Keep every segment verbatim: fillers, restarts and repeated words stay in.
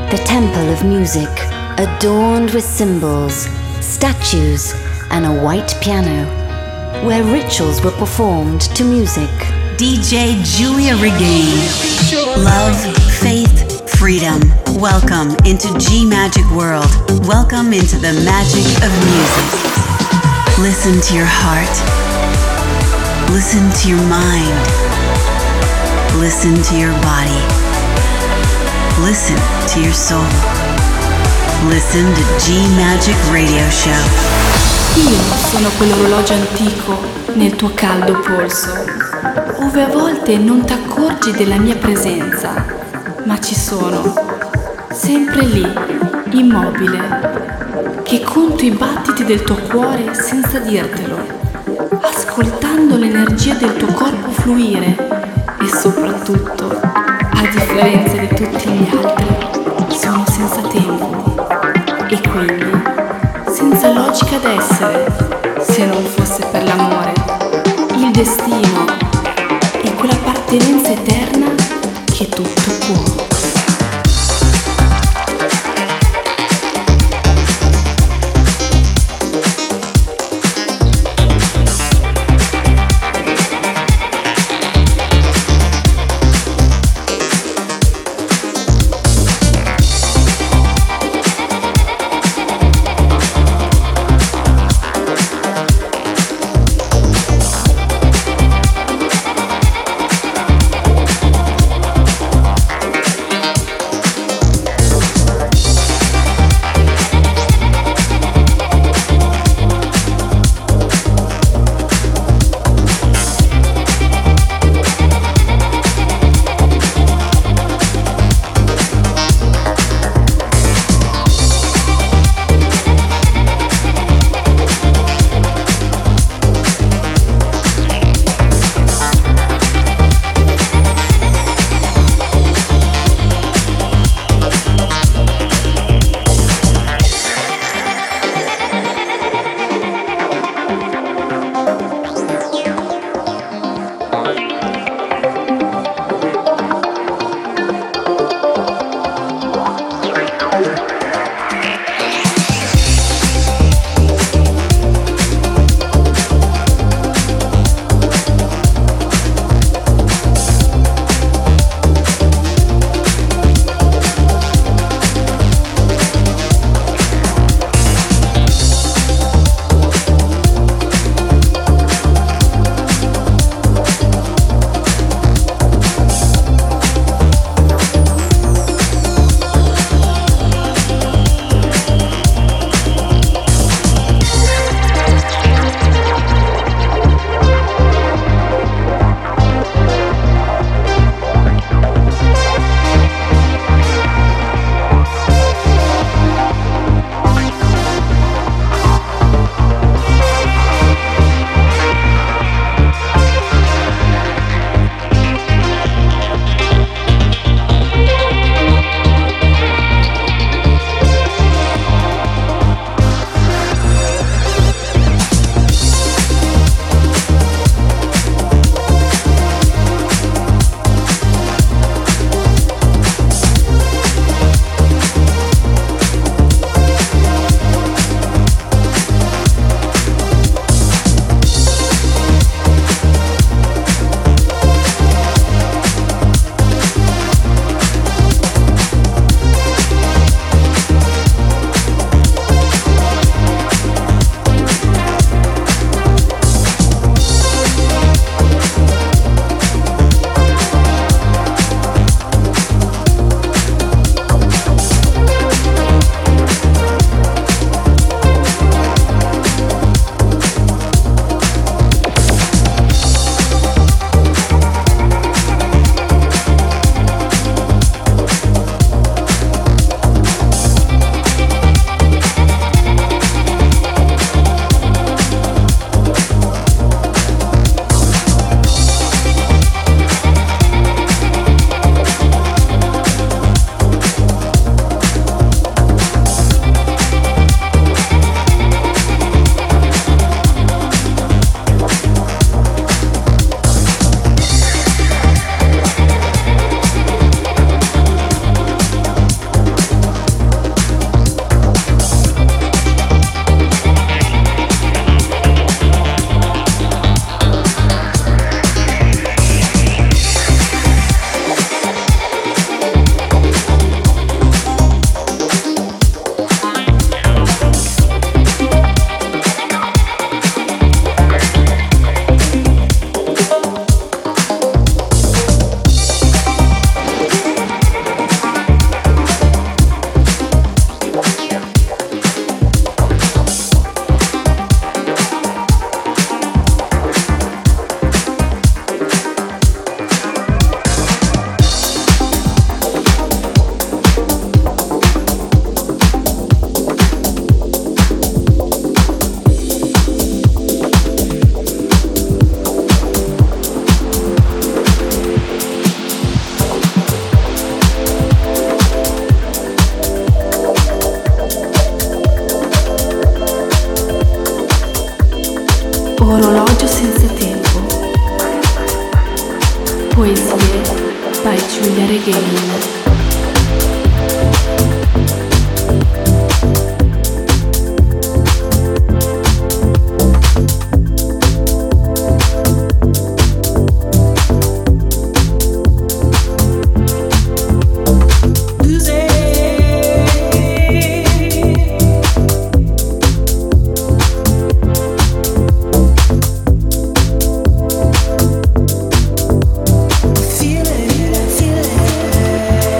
the temple of music, adorned with symbols, statues, and a white piano, where rituals were performed to music. D J Giulia Regain. Love, faith, freedom. Welcome into G Magic World. Welcome into the magic of music. Listen to your heart. Listen to your mind. Listen to your body. Listen to your soul. Listen to G Magic Radio Show. Io sono quell'orologio antico nel tuo caldo polso, ove a volte non ti accorgi della mia presenza, ma ci sono, sempre lì, immobile, che conto i battiti del tuo cuore senza dirtelo, ascoltando l'energia del tuo corpo fluire e soprattutto, a differenza di tutti gli altri, sono senza tempo e quindi senza logica d'essere, se non fosse per l'amore, il destino e quell'appartenenza eterna che tutto può. Orologio senza tempo. Poesie by Giulia Regain. Feel it, feel it.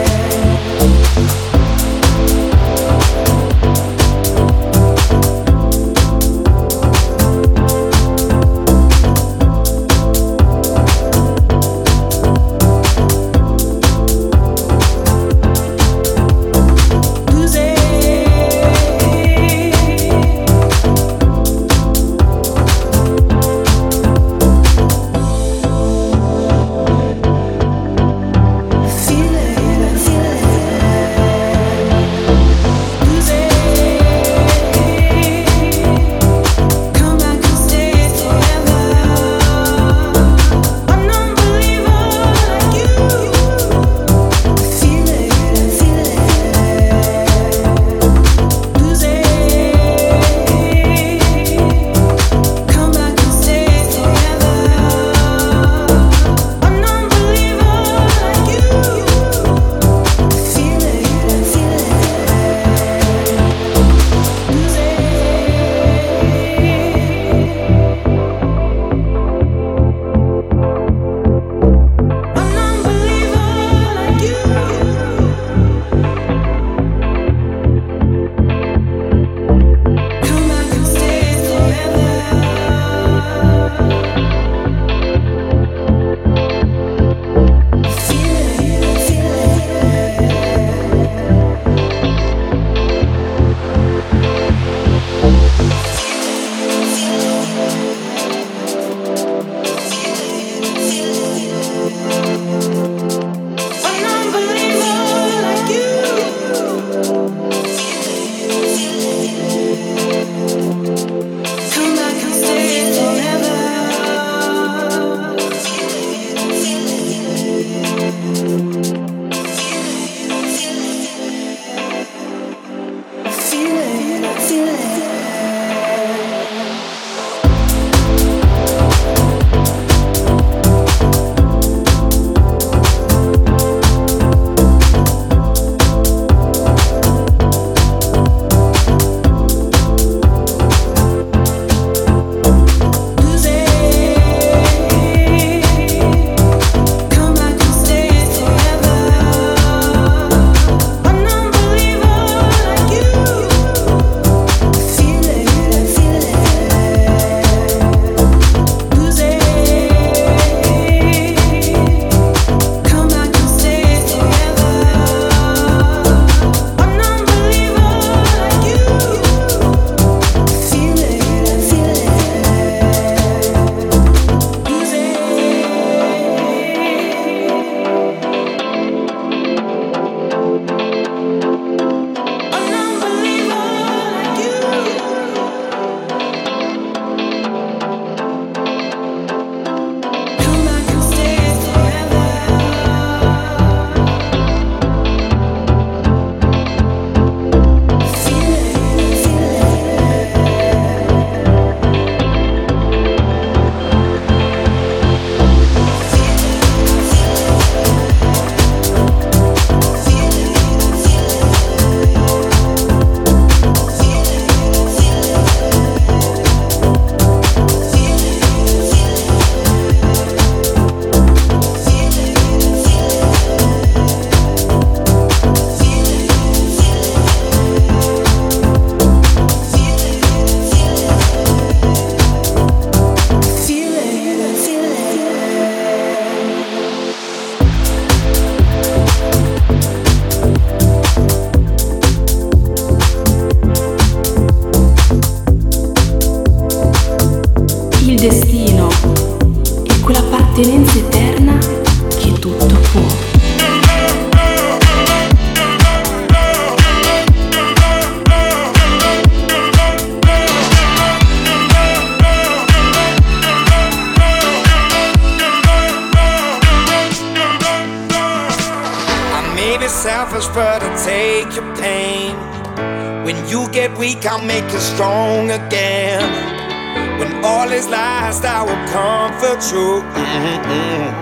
Maybe selfish, but I'll take your pain. When you get weak, I'll make you strong again. When all is lost, I will comfort you. Mm-hmm.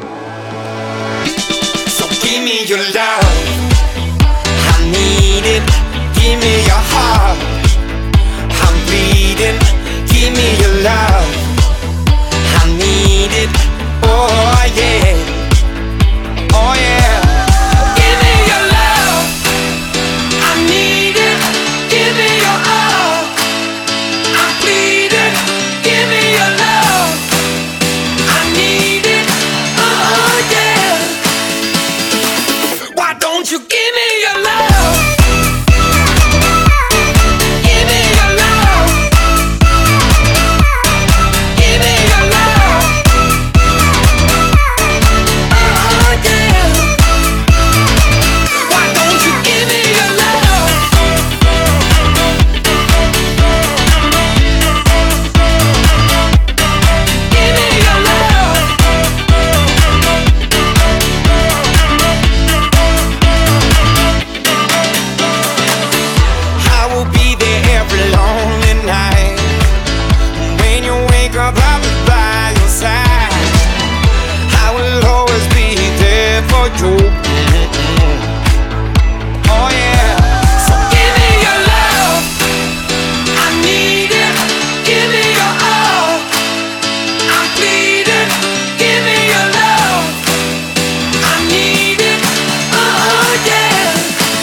So give me your love, I need it. Give me your heart, I'm bleeding. Give me your love, I need it. Oh yeah, oh yeah. Give me your love, I need it. Give me your all, I'm bleeding. Give me your love, I need it. Oh yeah. Why don't you give me your love? Give me your love. Give me your love. Oh yeah. Why don't you give me your love? Give me your love. I will be there every lonely night. When you wake up, I'll be by your side. I will always be there for you. Mm-mm. Oh yeah. So give me your love, I need it. Give me your all, I'm bleeding. Give me your love, I need it. Oh yeah.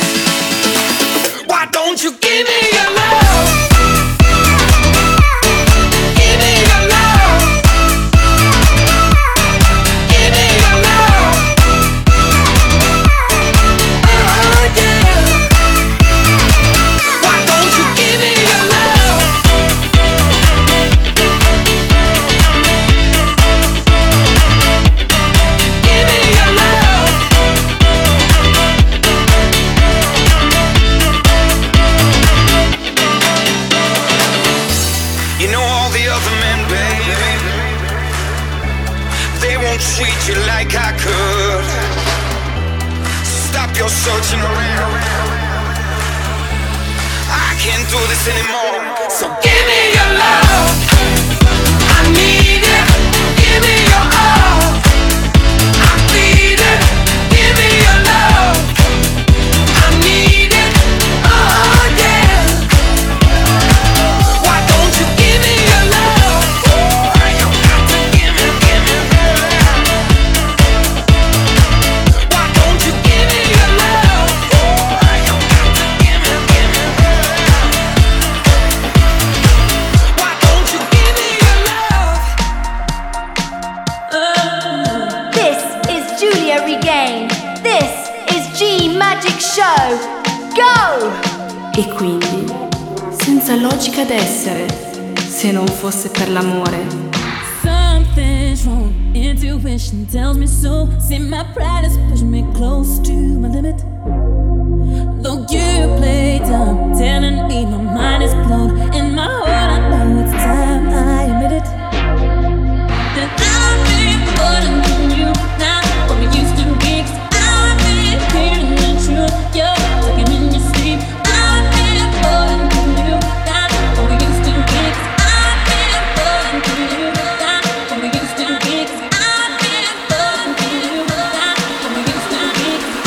Why don't you give me your love? Give me your love. Give me your love. Oh yeah. Why don't you give me your love? Give me your love. You know all the other men, baby, they won't treat you like I could. Stop your searching around, I can't do this anymore. So give me your love, I need it. Give me your all, I'm bleeding. Give me your love, I need it. Oh yeah. Why don't you give me your love? You got to give me, give me. Why don't you give me your love? You got to give me, give me. Why don't you give me your love? This is Julia Regain. This is G Magic Show. Go! E quindi, senza logica d'essere, se non fosse per l'amore. Something's wrong, intuition tells me so. See, my pride has pushed me close to my limit. Though you play dumb, telling me my mind is blown. In my heart I know it's time I admit it. That I've been more than you now, what we used to be. 'Cause I've been hearing the truth, you're talking in your sleep. I've been more than you now, what we used to be. 'Cause I've been more than you now, what we used to be. 'Cause I've been more than you now, what we used to be.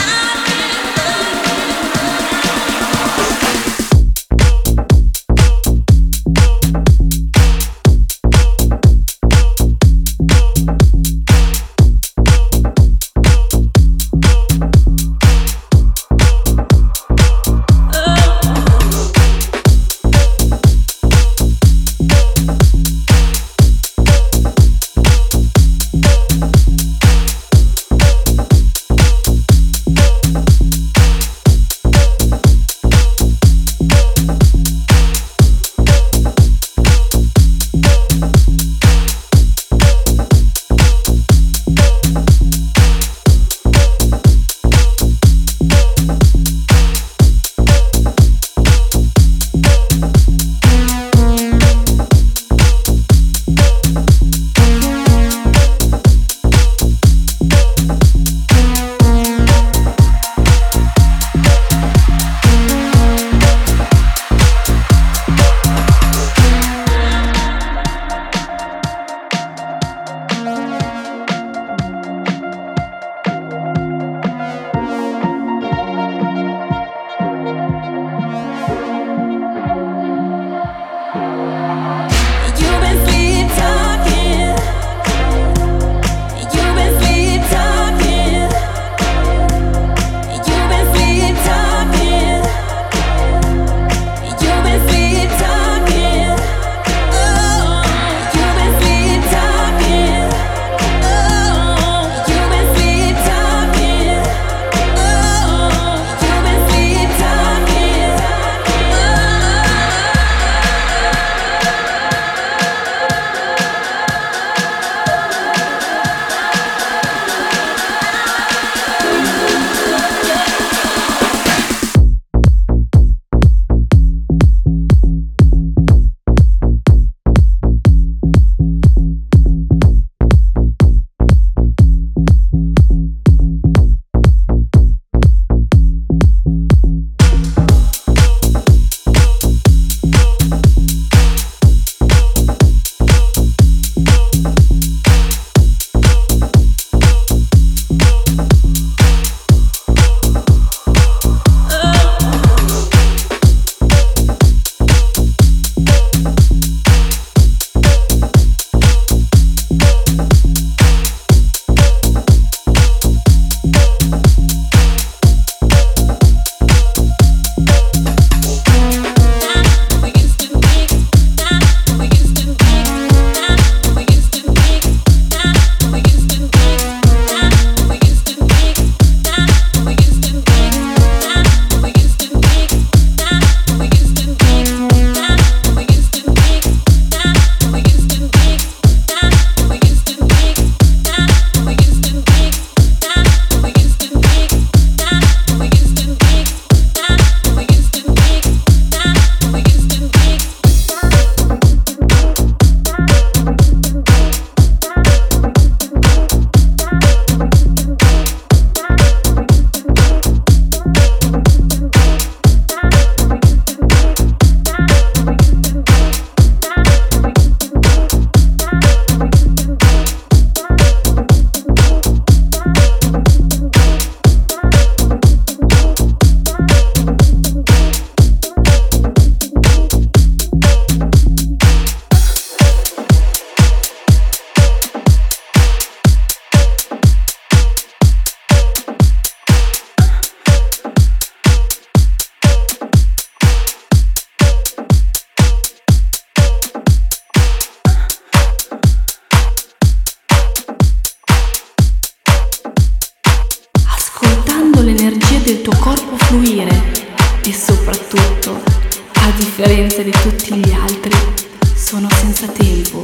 del tuo corpo fluire e soprattutto, a differenza di tutti gli altri, sono senza tempo.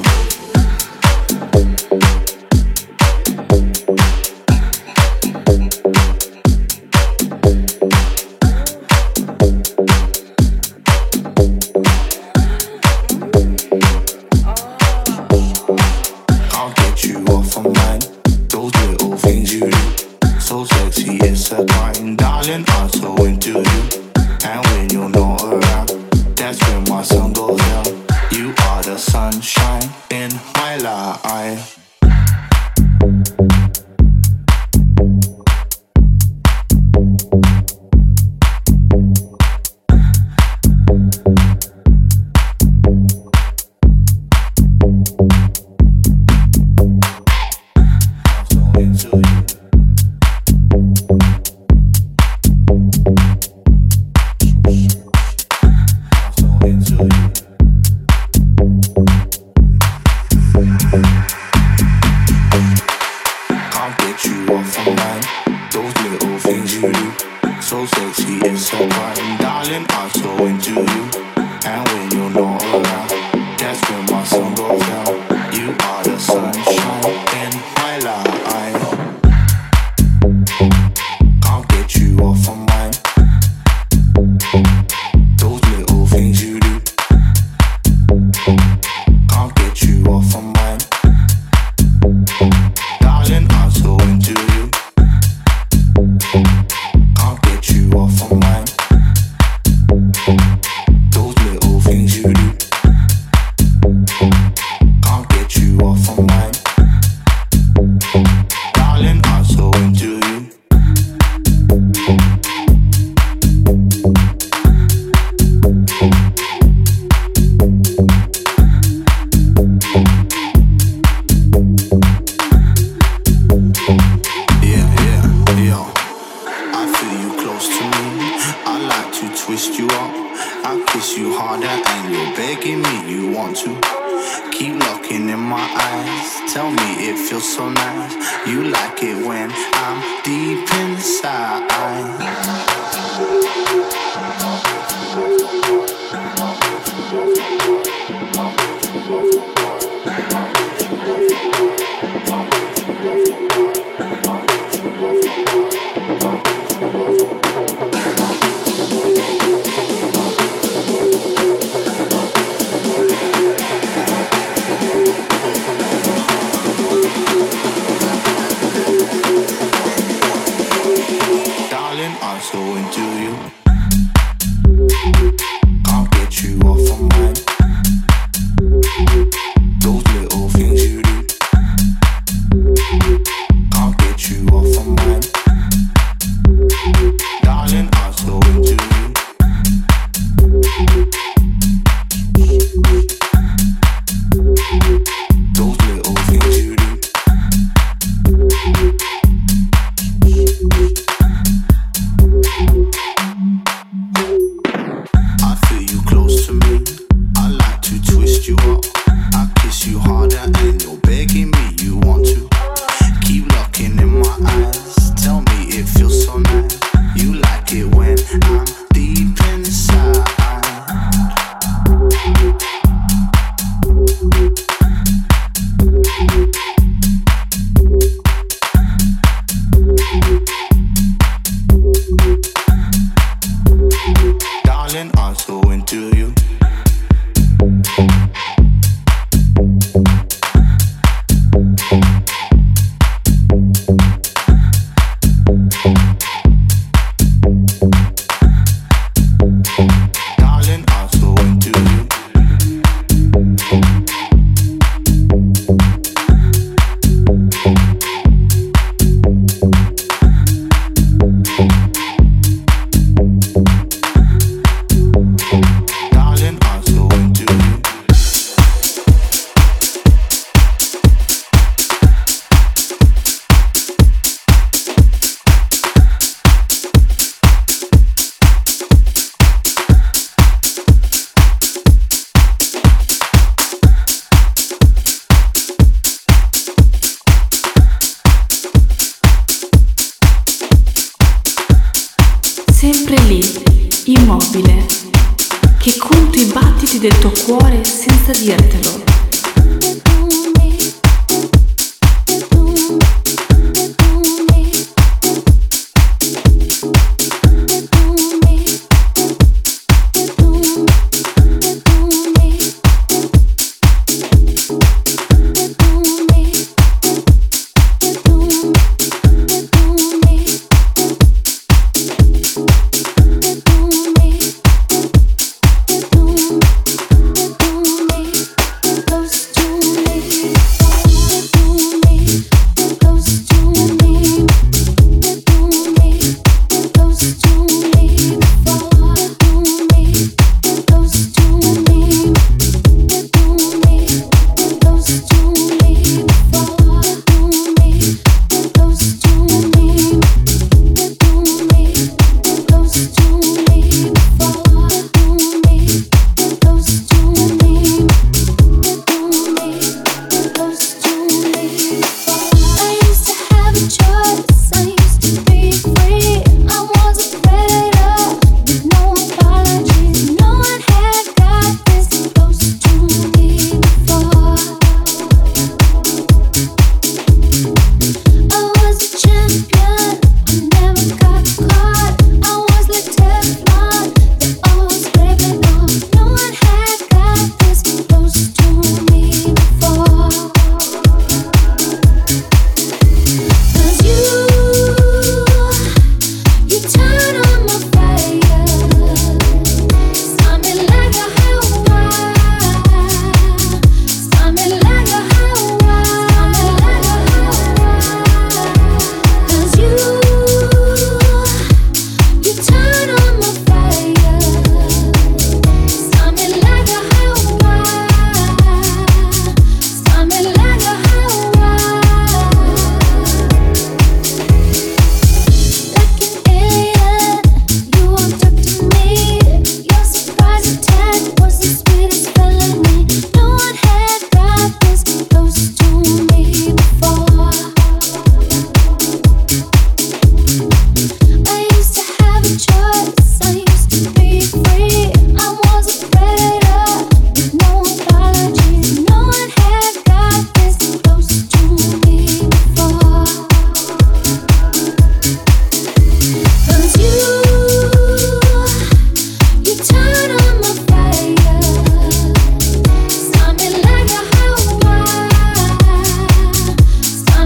sempre lì, immobile, che conto i battiti del tuo cuore senza dirtelo.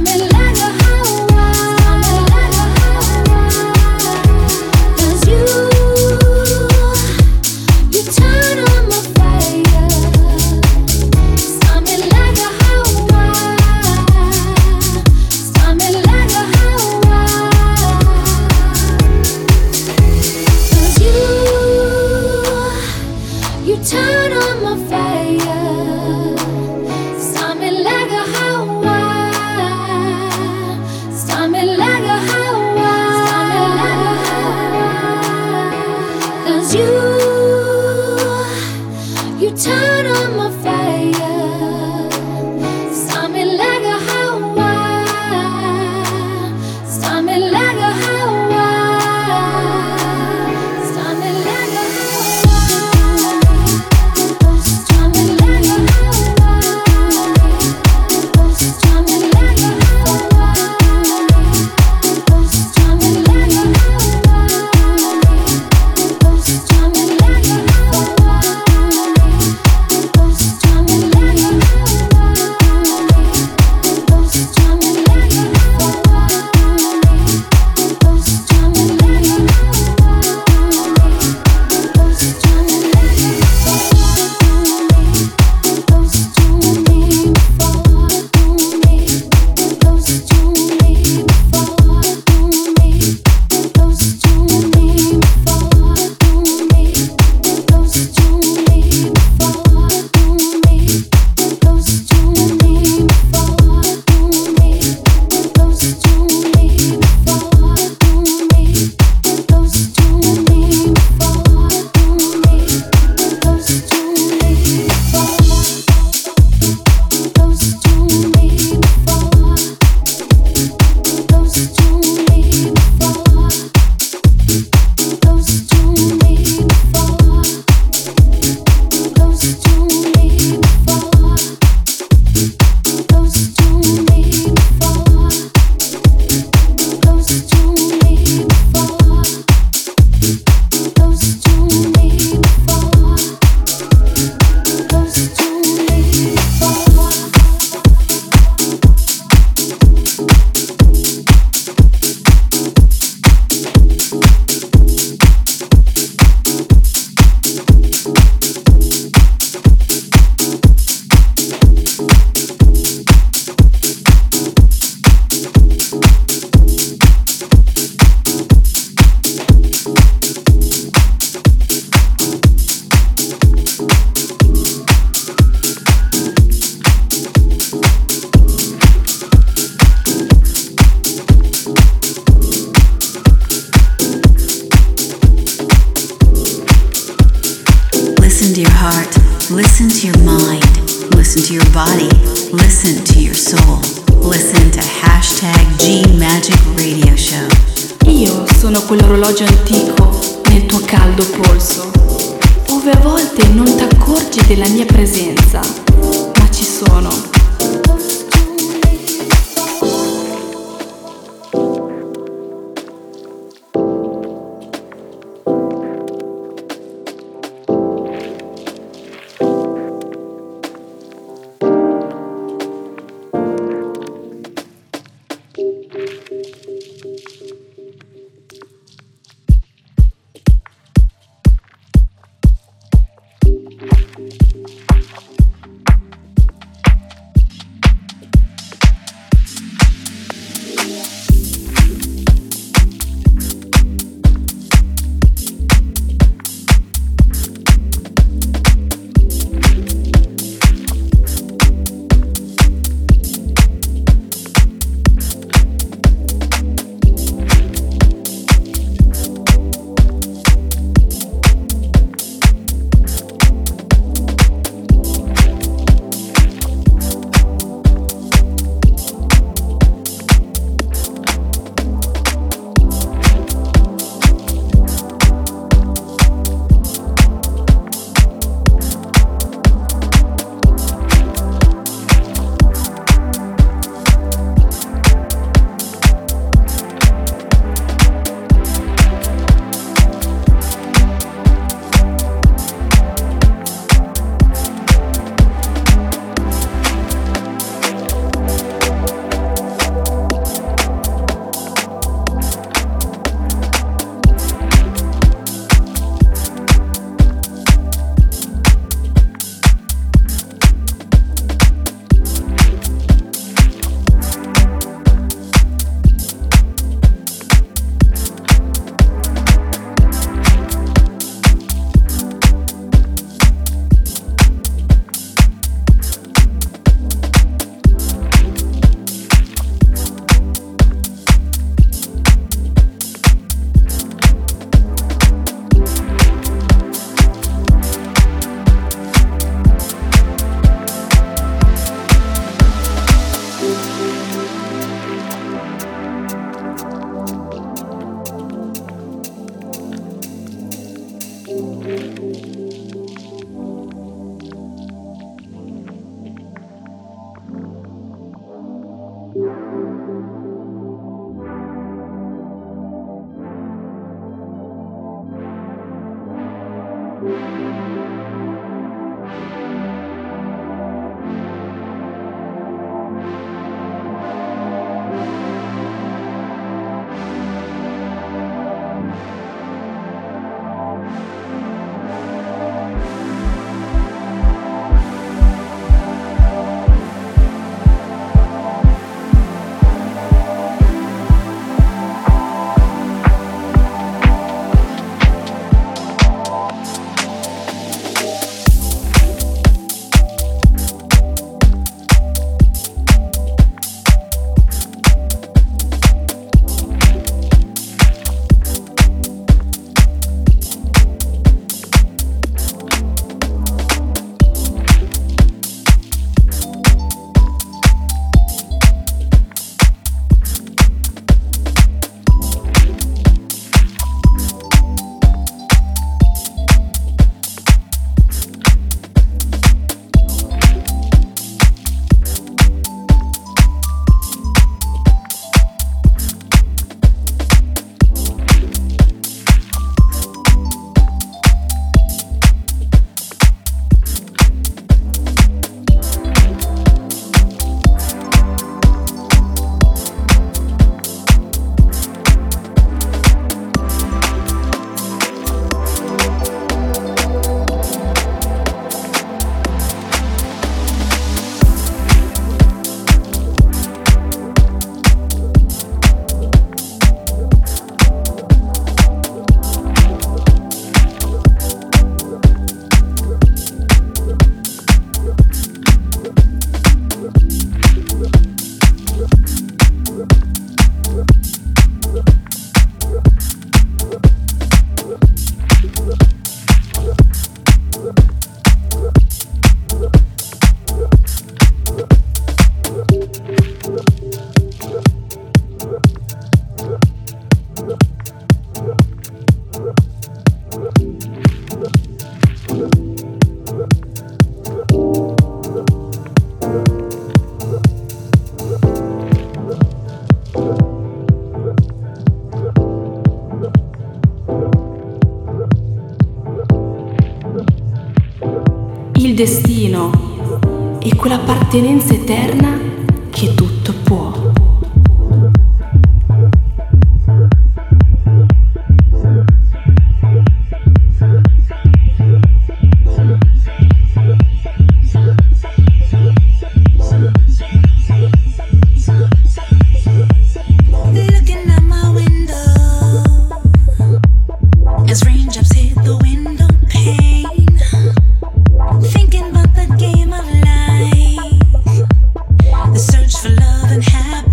You heart, listen to your mind, listen to your body, listen to your soul. Listen to hashtag G Magic Radio Show. Io sono quell'orologio antico nel tuo caldo polso, ove a volte non ti accorgi della mia presenza, ma ci sono. destino e quell'appartenenza eterna che tutto può. Search for love and happiness.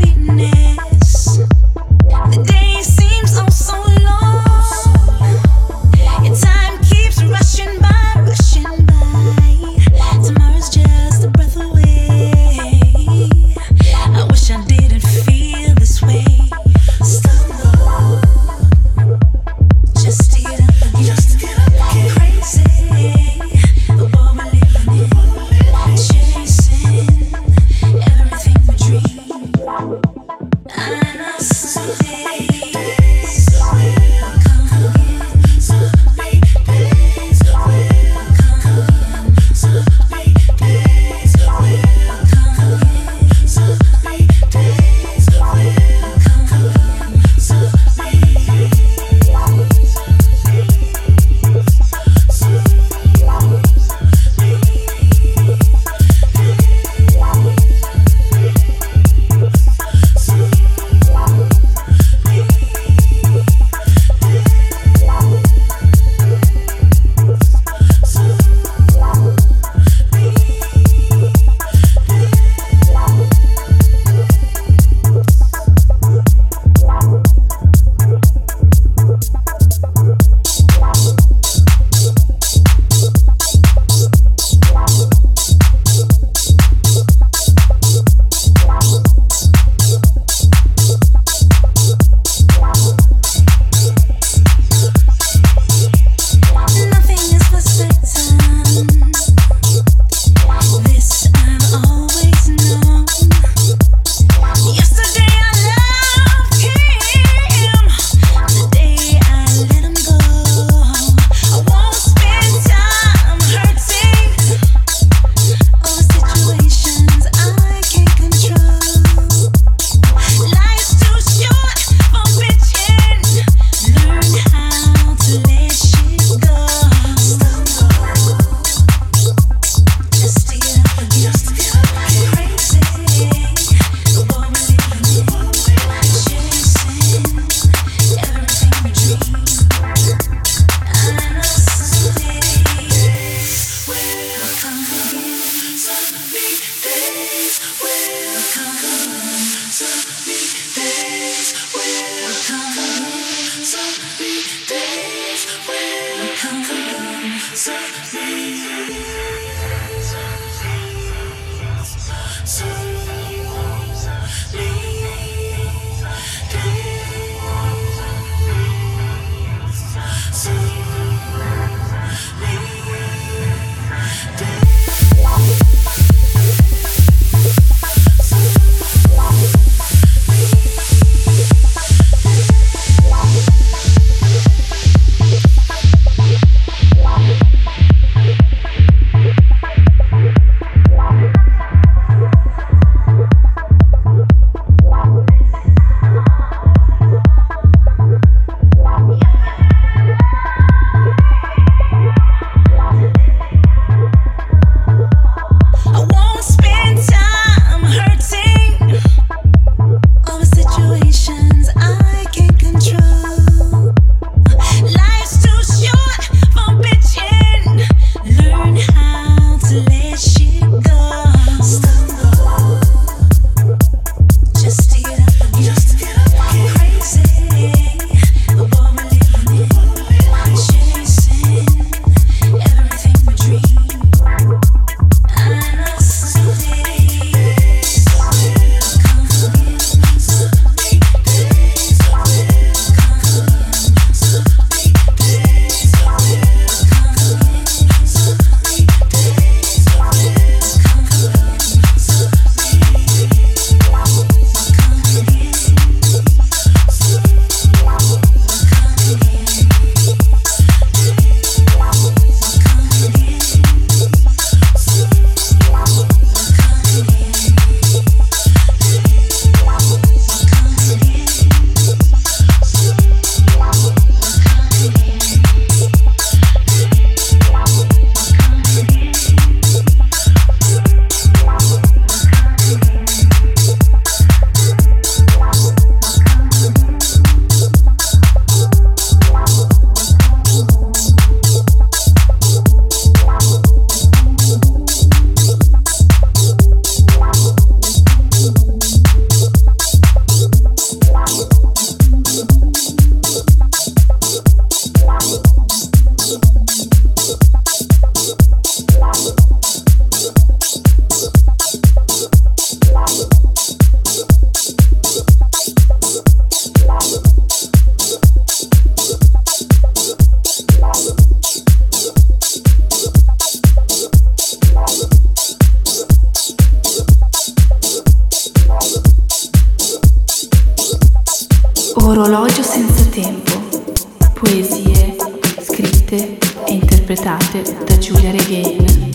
Orologio senza tempo. Poesie scritte e interpretate da Giulia Regain.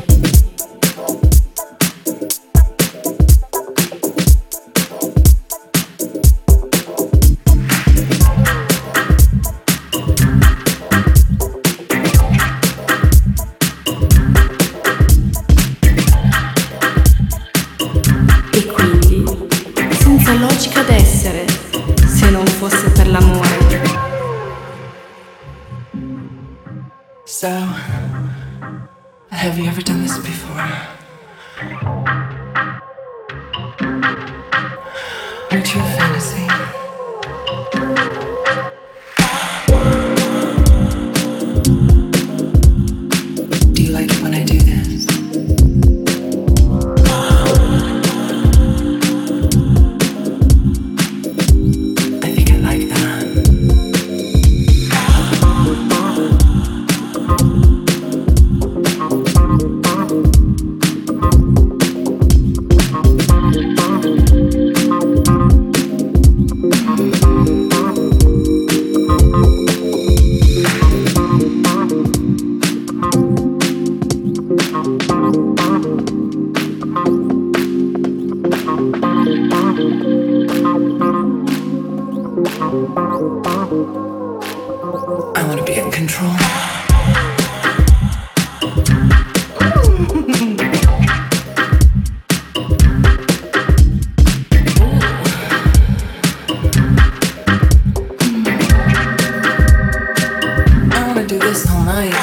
E quindi, senza logica d'essere, se non fosse per l'amore. So, have you ever done this before? Aren't you a fantasy? Do you like it when I do this? I think I like that. I want to be in control. I want to do this all night.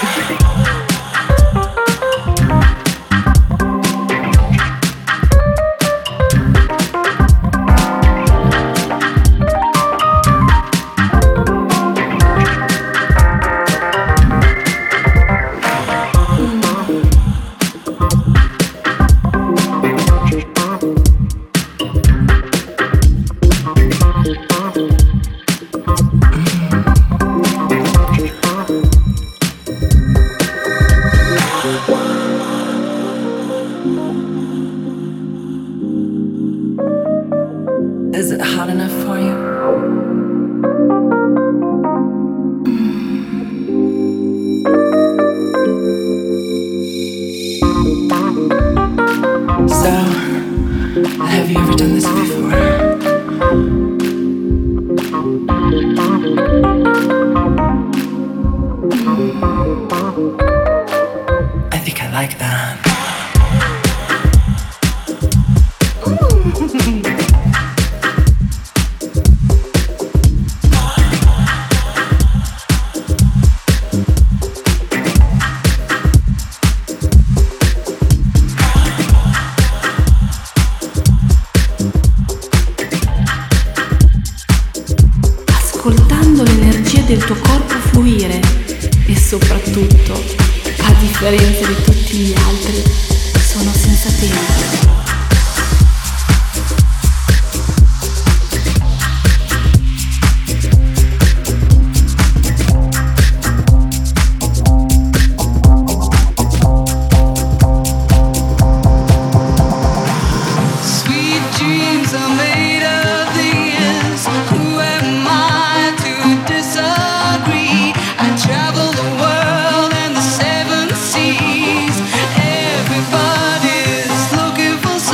Is it hot enough for you? So, have you ever done this before? I think I like that. Ascoltando l'energia del tuo corpo fluire e soprattutto, a differenza di tutti gli altri, sono senza tempo. Everybody's looking for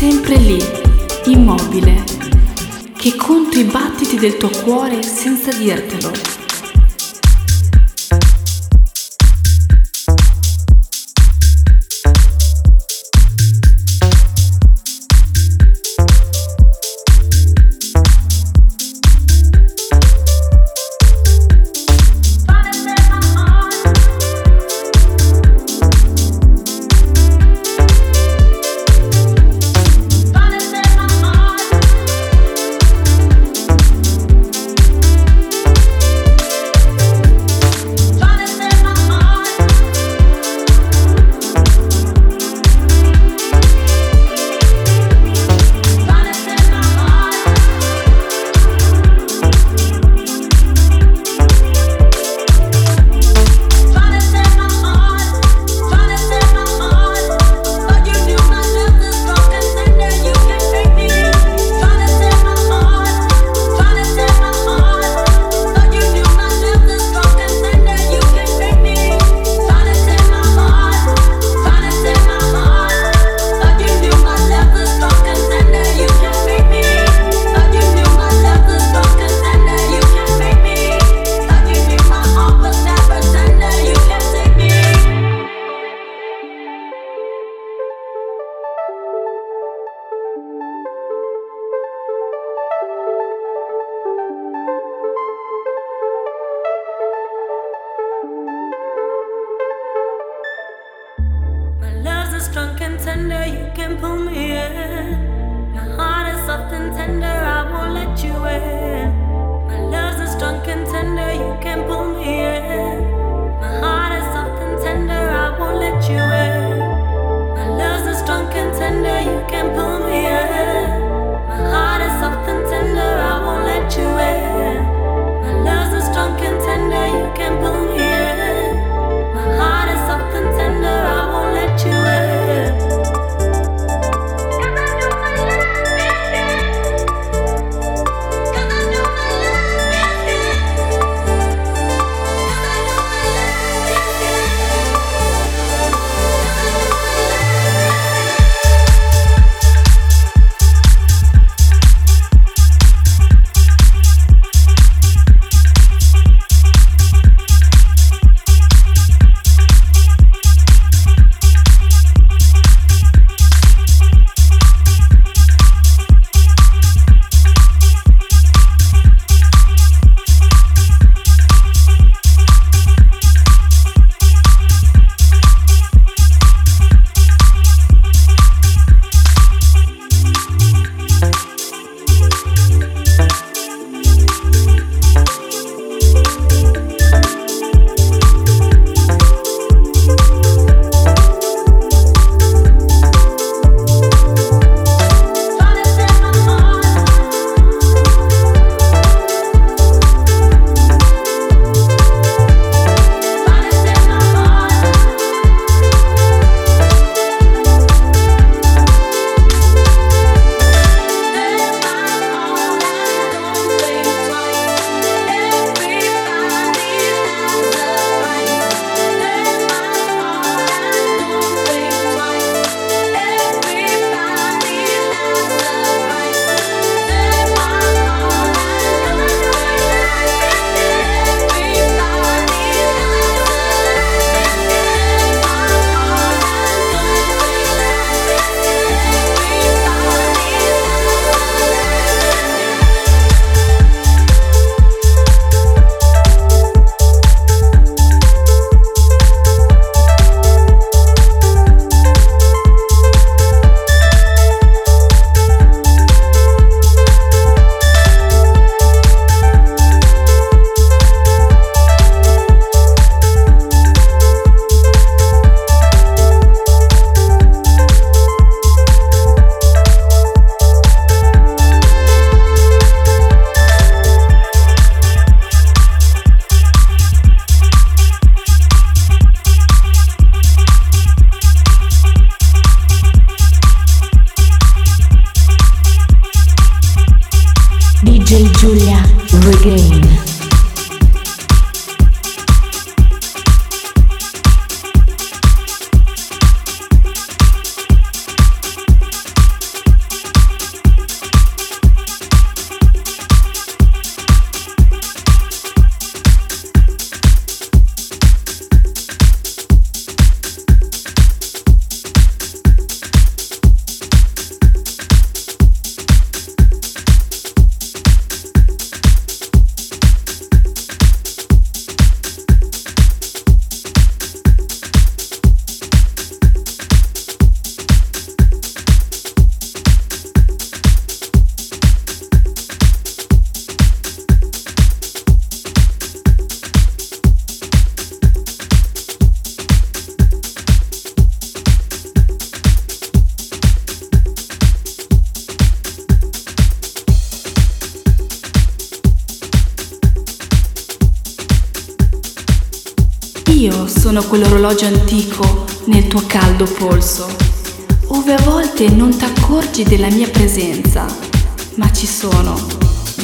sempre lì, immobile, che conto i battiti del tuo cuore senza dirtelo. Giulia Regain. Io sono quell'orologio antico nel tuo caldo polso, ove a volte non t'accorgi della mia presenza, ma ci sono.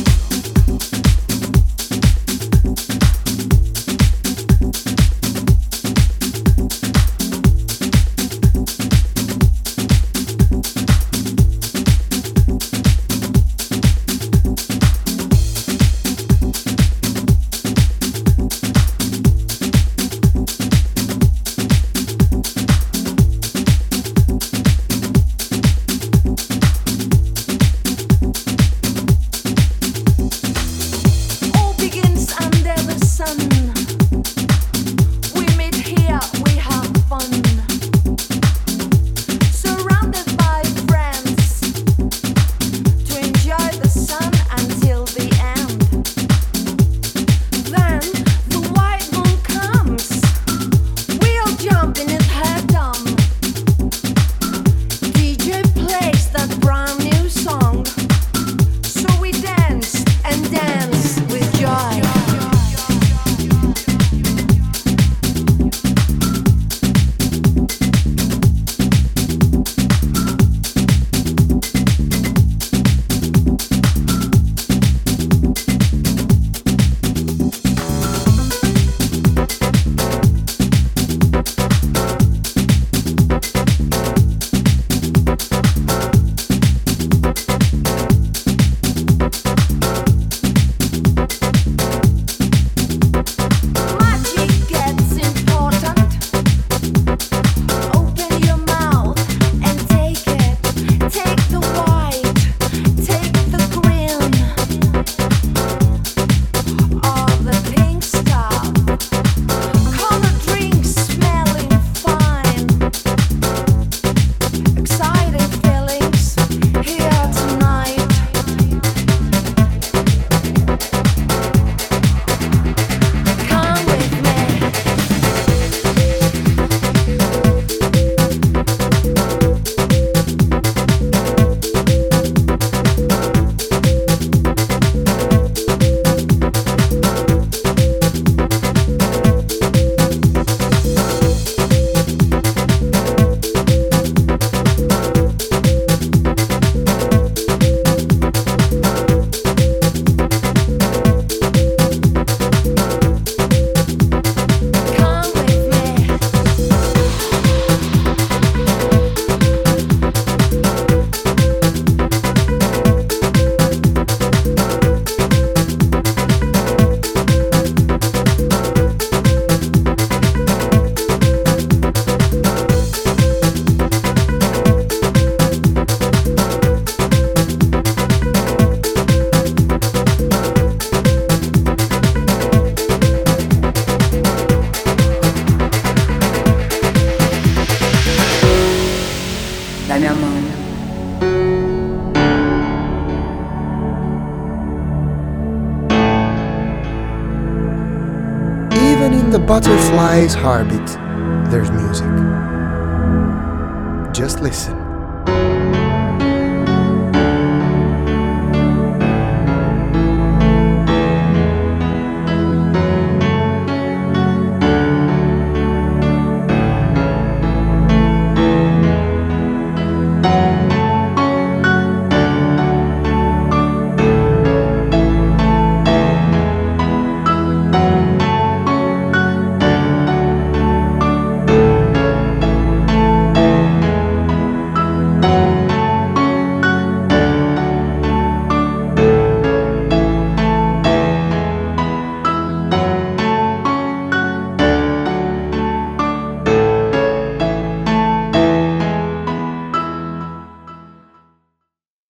In the butterfly's heartbeat, there's music. Just listen.